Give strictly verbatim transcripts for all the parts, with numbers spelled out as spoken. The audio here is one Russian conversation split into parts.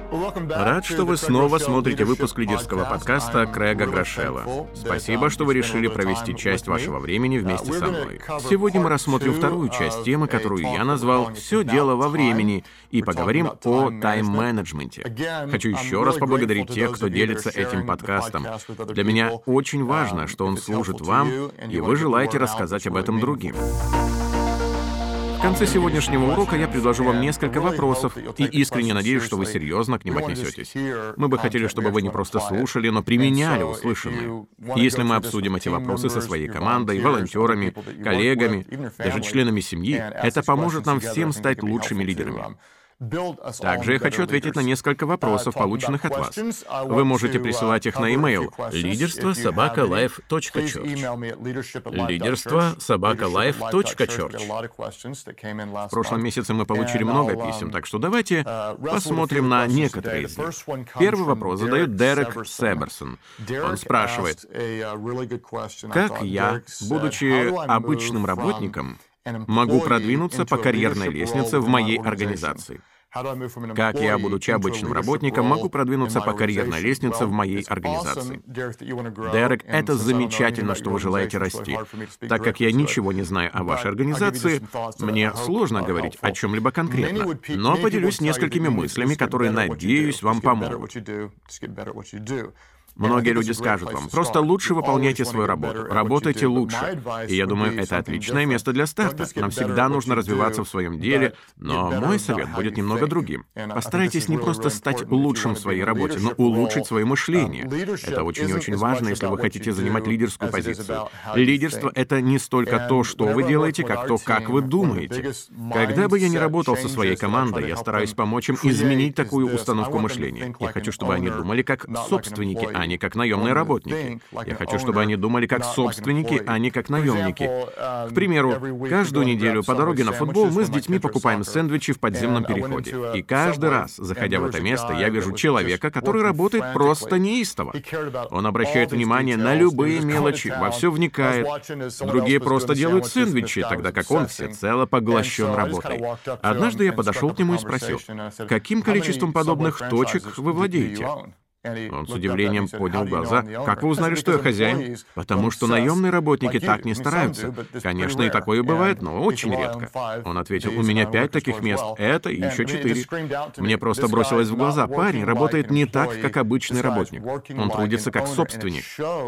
Рад, что вы снова смотрите выпуск лидерского подкаста Крэга Грошева. Спасибо, что вы решили провести часть вашего времени вместе со мной. Сегодня мы рассмотрим вторую часть темы, которую я назвал «Все дело во времени», и поговорим о тайм-менеджменте. Хочу еще раз поблагодарить тех, кто делится этим подкастом. Для меня очень важно, что он служит вам, и вы желаете рассказать об этом другим. В конце сегодняшнего урока я предложу вам несколько вопросов и искренне надеюсь, что вы серьезно к ним отнесетесь. Мы бы хотели, чтобы вы не просто слушали, но применяли услышанное. И если мы обсудим эти вопросы со своей командой, волонтерами, коллегами, даже членами семьи, это поможет нам всем стать лучшими лидерами. Также я хочу ответить на несколько вопросов, полученных от вас. Вы можете присылать их на e-mail лидерство собака лайф точка чёрч. лидерство собака лайф точка чёрч. В прошлом месяце мы получили много писем, так что давайте посмотрим на некоторые из них. Первый вопрос задает Дерек Себерсон. Он спрашивает: как я, будучи обычным работником, могу продвинуться по карьерной лестнице в моей организации? Как я, будучи обычным работником, могу продвинуться по карьерной лестнице в моей организации? Дерек, это замечательно, что вы желаете расти. Так как я ничего не знаю о вашей организации, мне сложно говорить о чем-либо конкретно, но поделюсь несколькими мыслями, которые, надеюсь, вам помогут. Многие люди скажут вам: просто лучше выполняйте свою работу, работайте лучше. И я думаю, это отличное место для старта. Нам всегда нужно развиваться в своем деле, но мой совет будет немного другим. Постарайтесь не просто стать лучшим в своей работе, но улучшить свое мышление. Это очень и очень важно, если вы хотите занимать лидерскую позицию. Лидерство — это не столько то, что вы делаете, как то, как вы думаете. Когда бы я ни работал со своей командой, я стараюсь помочь им изменить такую установку мышления. Я хочу, чтобы они думали как собственники, а не как наемные работники. Я хочу, чтобы они думали как собственники, а не как наемники. К примеру, каждую неделю по дороге на футбол мы с детьми покупаем сэндвичи в подземном переходе. И каждый раз, заходя в это место, я вижу человека, который работает просто неистово. Он обращает внимание на любые мелочи, во все вникает. Другие просто делают сэндвичи, тогда как он всецело поглощен работой. Однажды я подошел к нему и спросил: каким количеством подобных точек вы владеете? Он с удивлением поднял глаза. «Как вы узнали, что я хозяин?» «Потому что наемные работники так не стараются. Конечно, и такое бывает, но очень редко». Он ответил: «У меня пять таких мест, это и еще четыре». Мне просто бросилось в глаза: парень работает не так, как обычный работник. Он трудится как собственник.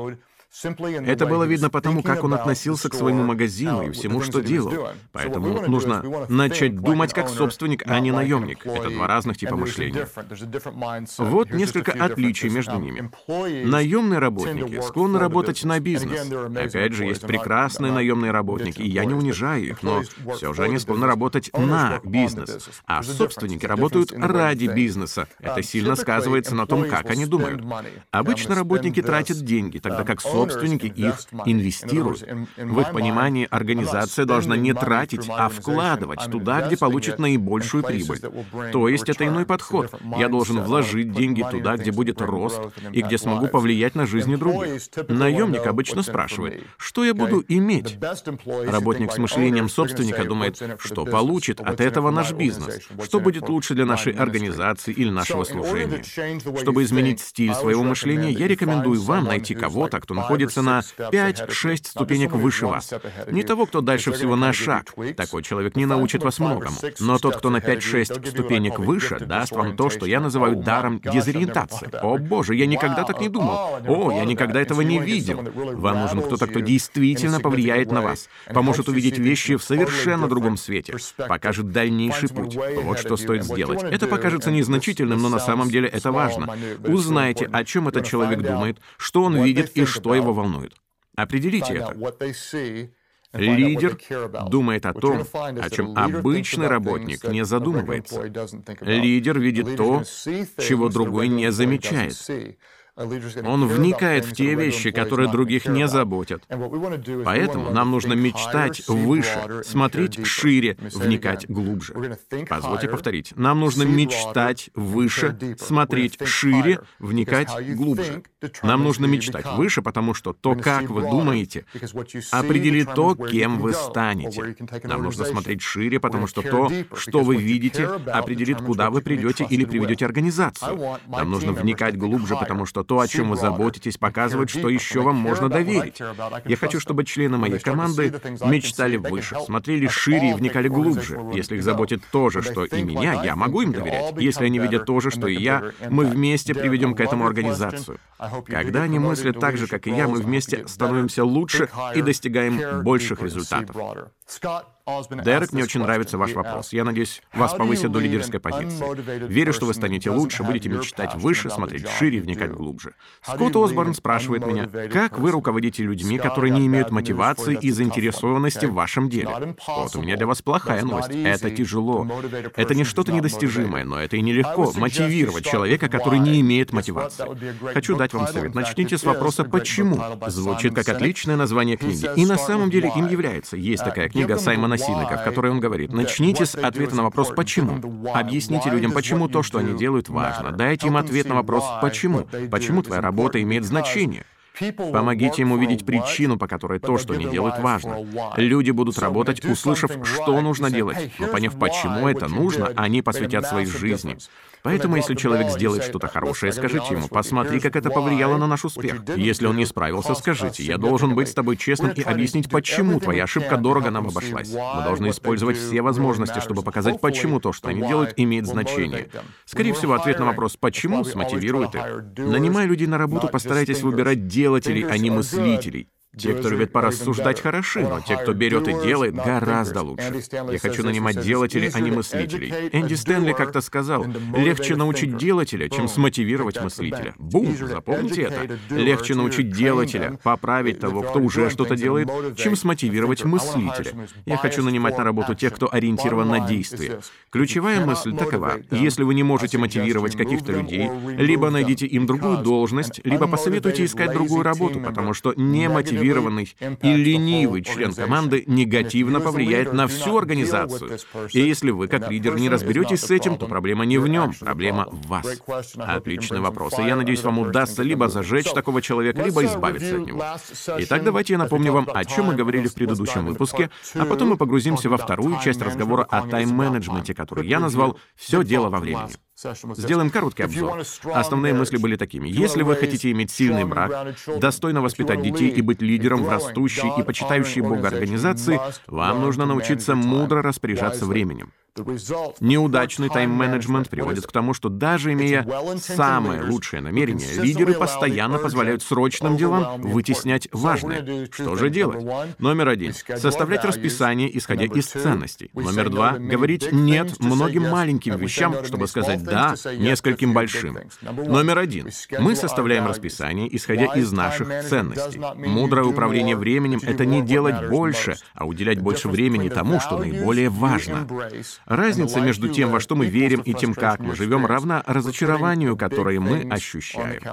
Это было видно потому, как он относился к своему магазину и всему, что делал. Поэтому нужно начать думать как собственник, а не наемник. Это два разных типа мышления. Вот несколько отличий между ними. Наемные работники склонны работать на бизнес. Опять же, есть прекрасные наемные работники, и я не унижаю их, но все же они склонны работать на бизнес. А собственники работают ради бизнеса. Это сильно сказывается на том, как они думают. Обычно работники тратят деньги, тогда как собственники Собственники их инвестируют. В их понимании организация должна не тратить, а вкладывать туда, где получит наибольшую прибыль. То есть это иной подход. Я должен вложить деньги туда, где будет рост и где смогу повлиять на жизни других. Наемник обычно спрашивает: что я буду иметь? Работник с мышлением собственника думает: что получит от этого наш бизнес, что будет лучше для нашей организации или нашего служения. Чтобы изменить стиль своего мышления, я рекомендую вам найти кого-то, кто находится находится на пять-шесть ступенек выше вас. Не того, кто дальше всего на шаг. Такой человек не научит вас многому. Но тот, кто на пять-шесть ступенек выше, даст вам то, что я называю даром дезориентации. О, боже, я никогда так не думал. О, я никогда этого не видел. Вам нужен кто-то, кто действительно повлияет на вас, поможет увидеть вещи в совершенно другом свете, покажет дальнейший путь. Вот что стоит сделать. Это покажется незначительным, но на самом деле это важно. Узнайте, о чем этот человек думает, что он видит и что его волнует. Определите это. Лидер думает о том, о чем обычный работник не задумывается. Лидер видит то, чего другой не замечает. Он вникает в те вещи, которые других не заботят. Поэтому нам нужно мечтать выше, смотреть шире, вникать глубже. Позвольте повторить. Нам нужно мечтать выше, смотреть шире, вникать глубже. Нам нужно мечтать выше, потому что то, как вы думаете, определит то, кем вы станете. Нам нужно смотреть шире, потому что то, что вы видите, определит, куда вы придете или приведете организацию. Нам нужно вникать глубже, потому что то, о чем вы заботитесь, показывает, что еще вам можно доверить. Я хочу, чтобы члены моей команды мечтали выше, смотрели шире и вникали глубже. Если их заботит то же, что и меня, я могу им доверять. Если они видят то же, что и я, мы вместе приведем к этому организацию. Когда они мыслят так же, как и я, мы вместе становимся лучше и достигаем больших результатов. Дерек, мне очень нравится ваш вопрос. Я надеюсь, вас повысят до лидерской позиции. Верю, что вы станете лучше, будете мечтать выше, смотреть шире, вникать глубже. Скотт Осборн спрашивает меня, как вы руководите людьми, которые не имеют мотивации и заинтересованности в вашем деле? Вот у меня для вас плохая новость. Это тяжело. Это не что-то недостижимое, но это и нелегко мотивировать человека, который не имеет мотивации. Хочу дать вам совет. Начните с вопроса «почему?». Звучит как отличное название книги. И на самом деле им является. Есть такая книга Саймона Синека, в которой он говорит, начните с ответа на вопрос «почему?». Объясните людям, почему то, что они делают, важно. Дайте им ответ на вопрос «почему?». Почему твоя работа имеет значение? Помогите им увидеть причину, по которой то, что они делают, важно. Люди будут работать, услышав, что нужно делать, но поняв, почему это нужно, они посвятят своей жизни. Поэтому, если человек сделает что-то хорошее, скажите ему, посмотри, как это повлияло на наш успех. Если он не справился, скажите, я должен быть с тобой честным и объяснить, почему твоя ошибка дорого нам обошлась. Мы должны использовать все возможности, чтобы показать, почему то, что они делают, имеет значение. Скорее всего, ответ на вопрос «почему?» смотивирует их. Нанимая людей на работу, постарайтесь выбирать делателей, а не мыслителей. Те, кто любит порассуждать, хороши, но те, кто берет и делает, гораздо лучше. Я хочу нанимать делателей, а не мыслителей. Энди Стэнли как-то сказал, легче научить делателя, чем смотивировать мыслителя. Бум! Запомните это. Легче научить делателя, поправить того, кто уже что-то делает, чем смотивировать мыслителя. Я хочу нанимать на работу тех, кто ориентирован на действие. Ключевая мысль такова. Если вы не можете мотивировать каких-то людей, либо найдите им другую должность, либо посоветуйте искать другую работу, потому что не мотивировать и ленивый член команды негативно повлияет на всю организацию. И если вы, как лидер, не разберетесь с этим, то проблема не в нем, проблема в вас. Отличный вопрос. И я надеюсь, вам удастся либо зажечь такого человека, либо избавиться от него. Итак, давайте я напомню вам, о чем мы говорили в предыдущем выпуске, а потом мы погрузимся во вторую часть разговора о тайм-менеджменте, который я назвал «Все дело во времени». Сделаем короткий обзор. Основные мысли были такими. Если вы хотите иметь сильный брак, достойно воспитать детей и быть лидером в растущей и почитающей Бога организации, вам нужно научиться мудро распоряжаться временем. Неудачный тайм-менеджмент приводит к тому, что даже имея самое лучшее намерение, лидеры постоянно позволяют срочным делам вытеснять важное. Что же делать? Номер один. Составлять расписание, исходя из ценностей. Номер два. Говорить «нет» многим маленьким вещам, чтобы сказать «да» нескольким большим. Номер один. Мы составляем расписание, исходя из наших ценностей. Мудрое управление временем — это не делать больше, а уделять больше времени тому, что наиболее важно. Разница между тем, во что мы верим, и тем, как мы живем, равна разочарованию, которое мы ощущаем.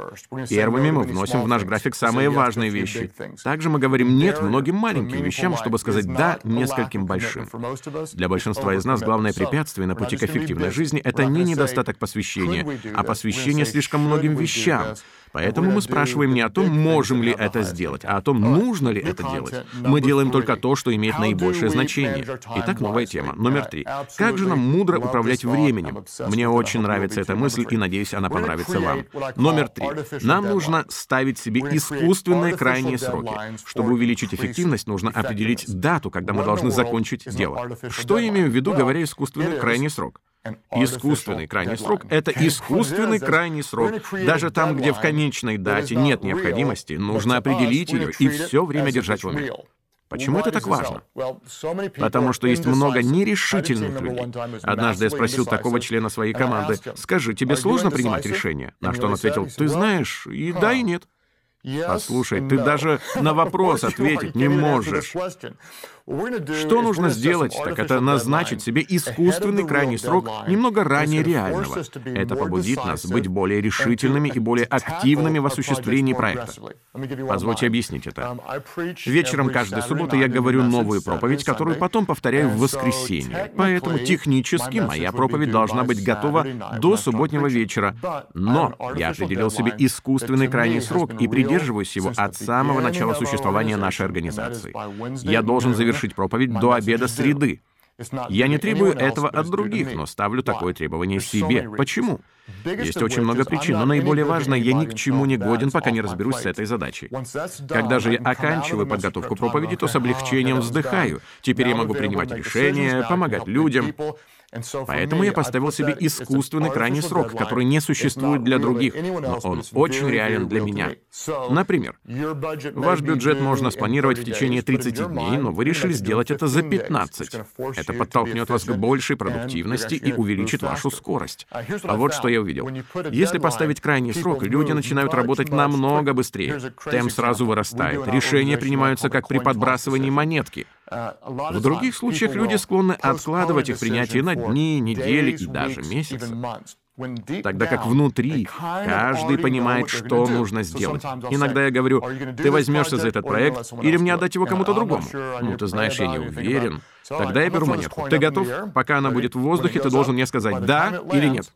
Первыми мы вносим в наш график самые важные вещи. Также мы говорим «нет» многим маленьким вещам, чтобы сказать «да» нескольким большим. Для большинства из нас главное препятствие на пути к эффективной жизни — это не недостаток посвящения, а посвящение слишком многим вещам. Поэтому мы спрашиваем не о том, можем ли это сделать, а о том, нужно ли это делать. Мы делаем только то, что имеет наибольшее значение. Итак, новая тема. Номер три. Как же нам мудро управлять временем? Мне очень нравится эта мысль, и, надеюсь, она понравится вам. Номер три. Нам нужно ставить себе искусственные крайние сроки. Чтобы увеличить эффективность, нужно определить дату, когда мы должны закончить дело. Что я имею в виду, говоря «искусственный крайний срок»? Искусственный крайний срок — это искусственный крайний срок. Даже там, где в конечной дате нет необходимости, нужно определить ее и все время держать в уме. Почему это так важно? Потому что есть много нерешительных людей. Однажды я спросил такого члена своей команды: «Скажи, тебе сложно принимать решения?» На что он ответил: «Ты знаешь, и да, и нет». Послушай, ты даже на вопрос ответить не можешь. Что нужно сделать, так это назначить себе искусственный крайний срок немного ранее реального. Это побудит нас быть более решительными и более активными в осуществлении проекта. Позвольте объяснить это. Вечером каждой субботы я говорю новую проповедь, которую потом повторяю в воскресенье. Поэтому технически моя проповедь должна быть готова до субботнего вечера. Но я определил себе искусственный крайний срок и придерживаюсь его от самого начала существования нашей организации. Я должен завершить проповедь до обеда среды. Я не требую этого от других, но ставлю такое требование себе. Почему? Есть очень много причин, но наиболее важное, я ни к чему не годен, пока не разберусь с этой задачей. Когда же я оканчиваю подготовку проповеди, то с облегчением вздыхаю. Теперь я могу принимать решения, помогать людям. Поэтому я поставил себе искусственный крайний срок, который не существует для других, но он очень реален для меня. Например, ваш бюджет можно спланировать в течение тридцати дней, но вы решили сделать это за пятнадцать. Это подтолкнет вас к большей продуктивности и увеличит вашу скорость. А вот что я увидел. Если поставить крайний срок, люди начинают работать намного быстрее. Темп сразу вырастает. Решения принимаются как при подбрасывании монетки. В других случаях люди склонны откладывать их принятие на дни, недели и даже месяцы. Тогда как внутри каждый понимает, что нужно сделать. Иногда я говорю: ты возьмешься за этот проект или мне отдать его кому-то другому? Ну, ты знаешь, я не уверен. Тогда я беру монетку. Ты готов? Пока она будет в воздухе, ты должен мне сказать «да» или «нет».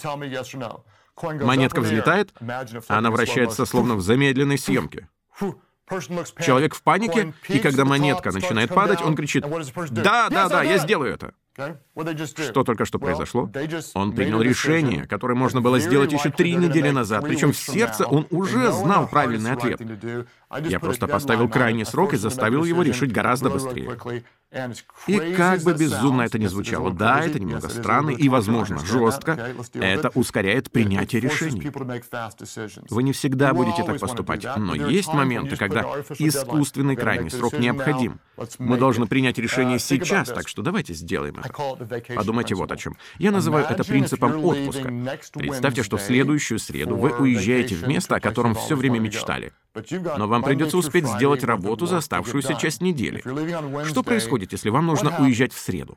Монетка взлетает, а она вращается словно в замедленной съемке. Человек в панике, и когда монетка начинает падать, он кричит: «Да, да, да, я сделаю это». Что только что произошло? Он принял решение, которое можно было сделать еще три недели назад, причем в сердце он уже знал правильный ответ. Я просто поставил крайний срок и заставил его решить гораздо быстрее. И как бы безумно это ни звучало, да, это немного странно и, возможно, жестко, это ускоряет принятие решений. Вы не всегда будете так поступать, но есть моменты, когда искусственный крайний срок необходим. Мы должны принять решение сейчас, так что давайте сделаем это. Подумайте вот о чем. Я называю это принципом отпуска. Представьте, что в следующую среду вы уезжаете в место, о котором все время мечтали. Но вам придется успеть сделать работу за оставшуюся часть недели. Что происходит, если вам нужно уезжать в среду?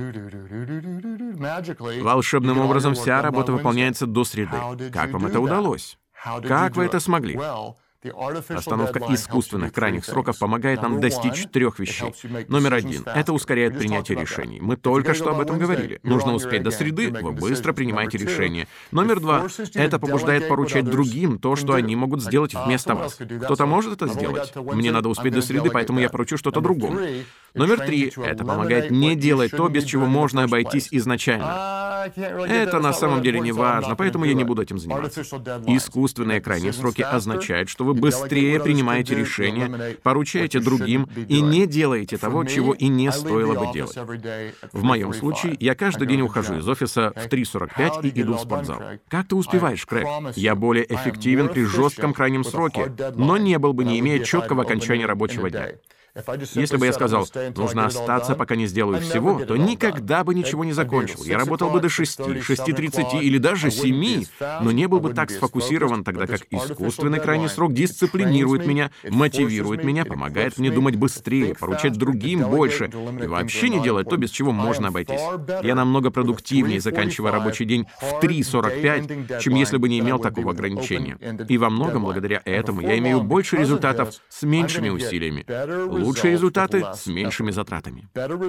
Волшебным образом вся работа выполняется до среды. Как вам это удалось? Как вы это смогли? Остановка искусственных крайних сроков помогает нам достичь трех вещей. Номер один — это ускоряет принятие решений. Мы только что об этом говорили. Нужно успеть до среды, вы быстро принимаете решение. Номер два — это побуждает поручать другим то, что они могут сделать вместо вас. Кто-то может это сделать. Мне надо успеть до среды, поэтому я поручу что-то другому. Номер три — это помогает не делать то, без чего можно обойтись изначально. Это на самом деле не важно, поэтому я не буду этим заниматься. Искусственные крайние сроки означают, что вы быстрее принимаете решения, поручаете другим и не делаете того, чего и не стоило бы делать. В моем случае, я каждый день ухожу из офиса в три сорок пять и иду в спортзал. Как ты успеваешь, Крэг? Я более эффективен при жестком крайнем сроке, но не был бы, не имея четкого окончания рабочего дня. Если бы я сказал, нужно остаться, пока не сделаю всего, то никогда бы ничего не закончил. Я работал бы до шести, шести тридцати или даже семи, но не был бы так сфокусирован, тогда как искусственный крайний срок дисциплинирует меня, мотивирует меня, помогает мне думать быстрее, поручать другим больше и вообще не делать то, без чего можно обойтись. Я намного продуктивнее заканчиваю рабочий день в три сорок пять, чем если бы не имел такого ограничения. И во многом благодаря этому я имею больше результатов с меньшими усилиями. Лучшие результаты с меньшими затратами.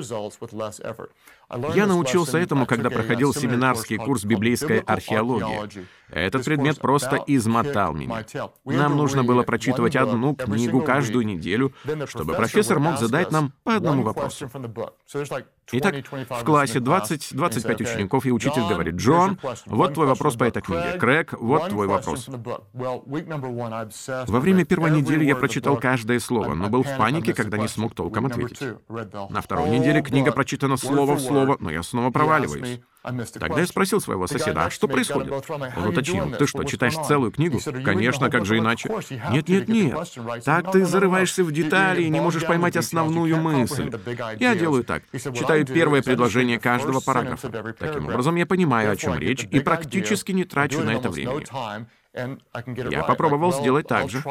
Я научился этому, когда проходил семинарский курс библейской археологии. Этот предмет просто измотал меня. Нам нужно было прочитывать одну книгу каждую неделю, чтобы профессор мог задать нам по одному вопросу. Итак, в классе двадцать-двадцать пять учеников, и учитель говорит: «Джон, вот твой вопрос по этой книге. Крэг, вот твой вопрос». Во время первой недели я прочитал каждое слово, но был в панике, когда не смог толком ответить. На второй неделе книга прочитана слово в слово, но я снова проваливаюсь. Тогда я спросил своего соседа: «А что происходит?» Он уточнил: «Ты что, читаешь целую книгу?» «Конечно, как же иначе?» «Нет, нет, нет. Так ты зарываешься в детали и не можешь поймать основную мысль. Я делаю так. Читаю первое предложение каждого параграфа. Таким образом, я понимаю, о чем речь, и практически не трачу на это времени. Я попробовал сделать так же.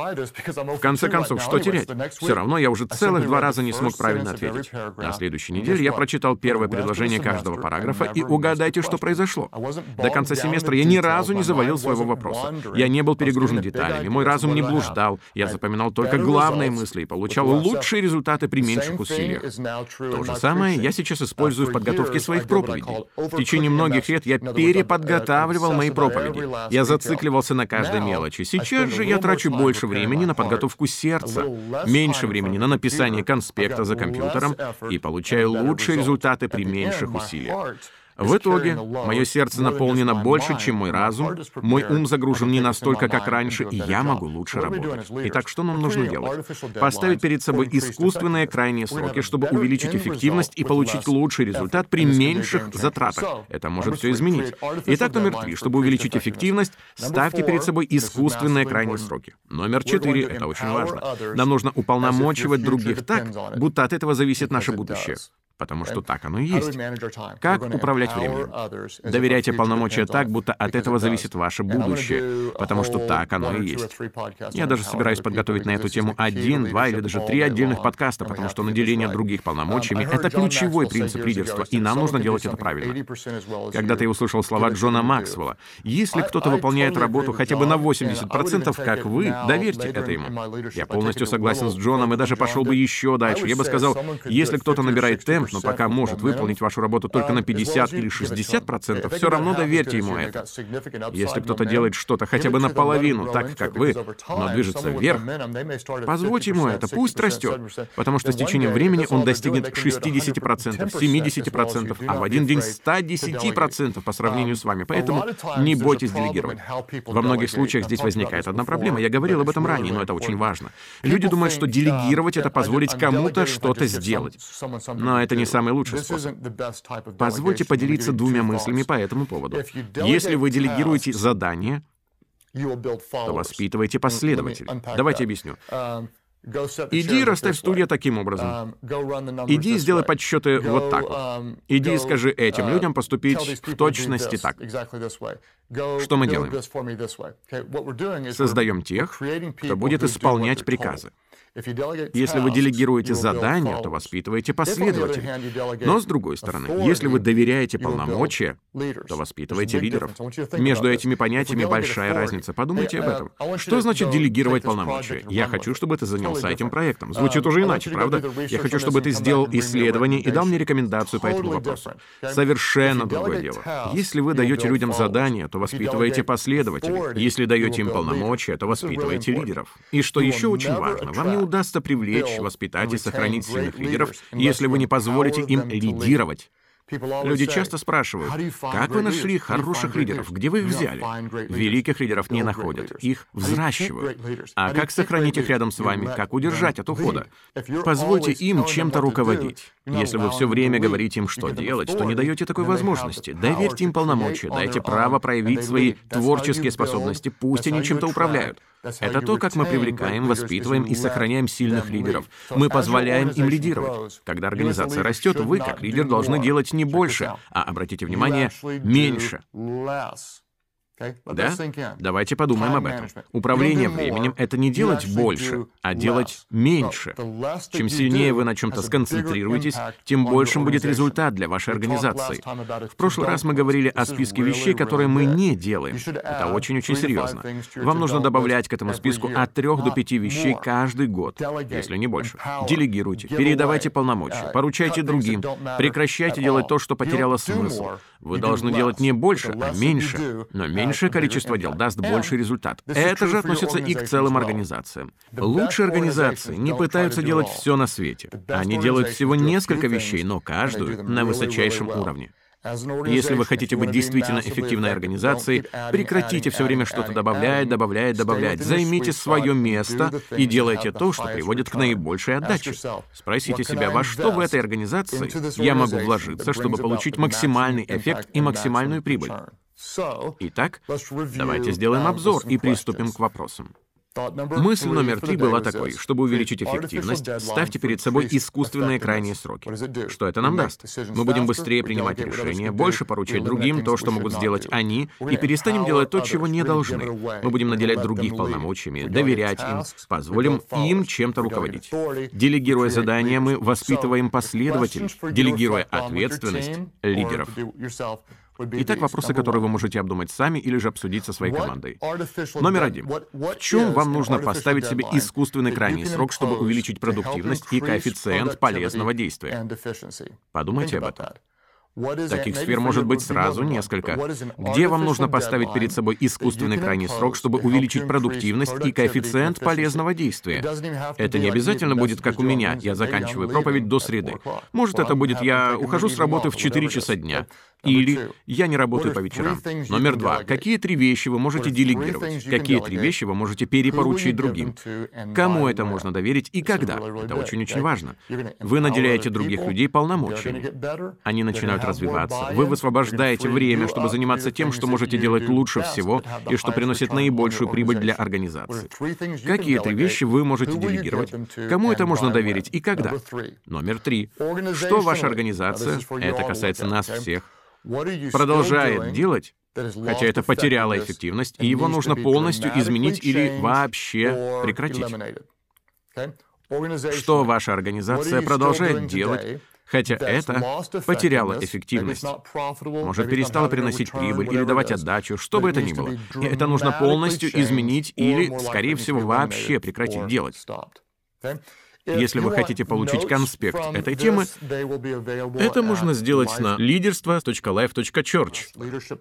В конце концов, что терять? Все равно я уже целых два раза не смог правильно ответить. На следующей неделе я прочитал первое предложение каждого параграфа, и угадайте, что произошло. До конца семестра я ни разу не завалил своего вопроса. Я не был перегружен деталями, мой разум не блуждал, я запоминал только главные мысли и получал лучшие результаты при меньших усилиях. То же самое я сейчас использую в подготовке своих проповедей. В течение многих лет я переподготавливал мои проповеди. Я зацикливался на каждой мелочи. Сейчас же я трачу больше времени на подготовку сердца, меньше времени на написание конспекта за компьютером и получаю лучшие результаты при меньших усилиях. В итоге, мое сердце наполнено больше, чем мой разум, мой ум загружен не настолько, как раньше, и я могу лучше работать. Итак, что нам нужно делать? Поставить перед собой искусственные крайние сроки, чтобы увеличить эффективность и получить лучший результат при меньших затратах. Это может все изменить. Итак, номер три. Чтобы увеличить эффективность, ставьте перед собой искусственные крайние сроки. Номер четыре. Это очень важно. Нам нужно уполномочивать других так, будто от этого зависит наше будущее. Потому что так оно и есть. Как управлять временем? Доверяйте полномочия так, будто от этого зависит ваше будущее. Потому что так оно и есть. Я даже собираюсь подготовить на эту тему один, два или даже три отдельных подкаста, потому что наделение других полномочиями — это ключевой принцип лидерства, и нам нужно делать это правильно. Когда-то я услышал слова Джона Максвелла: «Если кто-то выполняет работу хотя бы на восемьдесят процентов, как вы, доверьте это ему». Я полностью согласен с Джоном и даже пошел бы еще дальше. Я бы сказал, если кто-то набирает темп, но пока может выполнить вашу работу только на пятьдесят или шестьдесят процентов, все равно доверьте ему это. Если кто-то делает что-то хотя бы наполовину так, как вы, но движется вверх, позвольте ему это, пусть растет, потому что с течением времени он достигнет шестидесяти процентов, семидесяти процентов, а в один день ста десяти процентов по сравнению с вами. Поэтому не бойтесь делегировать. Во многих случаях здесь возникает одна проблема. Я говорил об этом ранее, но это очень важно. Люди думают, что делегировать — это позволить кому-то что-то сделать. Но это не самый лучший способ. Позвольте поделиться двумя мыслями по этому поводу. Если вы делегируете задание, то воспитывайте последователей. Давайте объясню. Иди и расставь стулья таким образом. Иди и сделай подсчеты вот так вот. Иди и скажи этим людям поступить в точности так. Что мы делаем? Создаем тех, кто будет исполнять приказы. Если вы делегируете задания, то воспитываете последователей. Но, с другой стороны, если вы доверяете полномочия, то воспитываете лидеров. Между этими понятиями большая разница. Подумайте об этом. Что значит делегировать полномочия? Я хочу, чтобы ты занялся этим проектом. Звучит уже иначе, правда? Я хочу, чтобы ты сделал исследование и дал мне рекомендацию по этому вопросу. Совершенно другое дело. Если вы даете людям задания, то воспитываете последователей. Если даете им полномочия, то воспитываете лидеров. И что еще очень важно, вам не удастся привлечь, воспитать и сохранить сильных лидеров, если вы не позволите им лидировать. Люди часто спрашивают, как вы нашли хороших лидеров, где вы их взяли? Великих лидеров не находят, их взращивают. А как сохранить их рядом с вами, как удержать от ухода? Позвольте им чем-то руководить. Если вы все время говорите им, что делать, то не даете такой возможности. Доверьте им полномочия, дайте право проявить свои творческие способности, пусть они чем-то управляют. Это то, как мы привлекаем, воспитываем и сохраняем сильных лидеров. Мы позволяем им лидировать. Когда организация растет, вы, как лидер, должны делать не больше, а, обратите внимание, меньше. Да? Давайте подумаем об этом. Управление временем — это не делать больше, а делать меньше. Чем сильнее вы на чем-то сконцентрируетесь, тем большим будет результат для вашей организации. В прошлый раз мы говорили о списке вещей, которые мы не делаем. Это очень-очень серьезно. Вам нужно добавлять к этому списку от трех до пяти вещей каждый год, если не больше. Делегируйте, передавайте полномочия, поручайте другим, прекращайте делать то, что потеряло смысл. Вы должны делать не больше, а меньше, но меньше. Меньшее количество дел даст больший результат. Это же относится и к целым организациям. Лучшие организации не пытаются делать все на свете. Они делают всего несколько вещей, но каждую на высочайшем уровне. Если вы хотите быть действительно эффективной организацией, прекратите все время что-то добавлять, добавлять, добавлять. Займите свое место и делайте то, что приводит к наибольшей отдаче. Спросите себя, во что в этой организации я могу вложиться, чтобы получить максимальный эффект и максимальную прибыль. Итак, давайте сделаем обзор и приступим к вопросам. Мысль номер три была такой: чтобы увеличить эффективность, ставьте перед собой искусственные крайние сроки. Что это нам даст? Мы будем быстрее принимать решения, больше поручать другим то, что могут сделать они, и перестанем делать то, чего не должны. Мы будем наделять других полномочиями, доверять им, позволим им чем-то руководить. Делегируя задания, мы воспитываем последователей, делегируя ответственность лидеров. Итак, вопросы, которые вы можете обдумать сами или же обсудить со своей командой. Номер один. В чем вам нужно поставить себе искусственный крайний срок, чтобы увеличить продуктивность и коэффициент полезного действия? Подумайте об этом. Таких сфер может быть сразу несколько. Где вам нужно поставить перед собой искусственный крайний срок, чтобы увеличить продуктивность и коэффициент полезного действия? Это не обязательно будет, как у меня, я заканчиваю проповедь до среды. Может, это будет я ухожу с работы в четыре часа дня. Или я не работаю по вечерам. Номер два. Какие три вещи вы можете делегировать? Какие три вещи вы можете перепоручить другим? Кому это можно доверить и когда? Это очень-очень важно. Вы наделяете других людей полномочиями. Они начинают развиваться. Вы высвобождаете время, чтобы заниматься тем, что можете делать лучше всего и что приносит наибольшую прибыль для организации. Какие три вещи вы можете делегировать? Кому это можно доверить и когда? Номер три. Что ваша организация, это касается нас всех, продолжает делать, хотя это потеряло эффективность, и его нужно полностью изменить или вообще прекратить? Что ваша организация продолжает делать, хотя это потеряло эффективность, может, перестало приносить прибыль или давать отдачу, что бы это ни было. И это нужно полностью изменить или, скорее всего, вообще прекратить делать. Если вы хотите получить конспект этой темы, это можно сделать на лидерство точка лайф точка чёрч.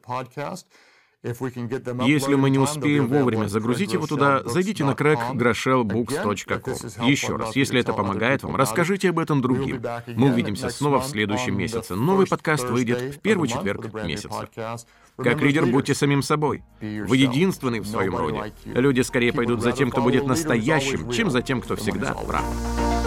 Если мы не успеем вовремя загрузить его туда, зайдите на крэг грошел букс точка ком. Еще раз, если это помогает вам, расскажите об этом другим. Мы увидимся снова в следующем месяце. Новый подкаст выйдет в первый четверг месяца. Как лидер, будьте самим собой. Вы единственный в своем роде. Люди скорее пойдут за тем, кто будет настоящим, чем за тем, кто всегда прав.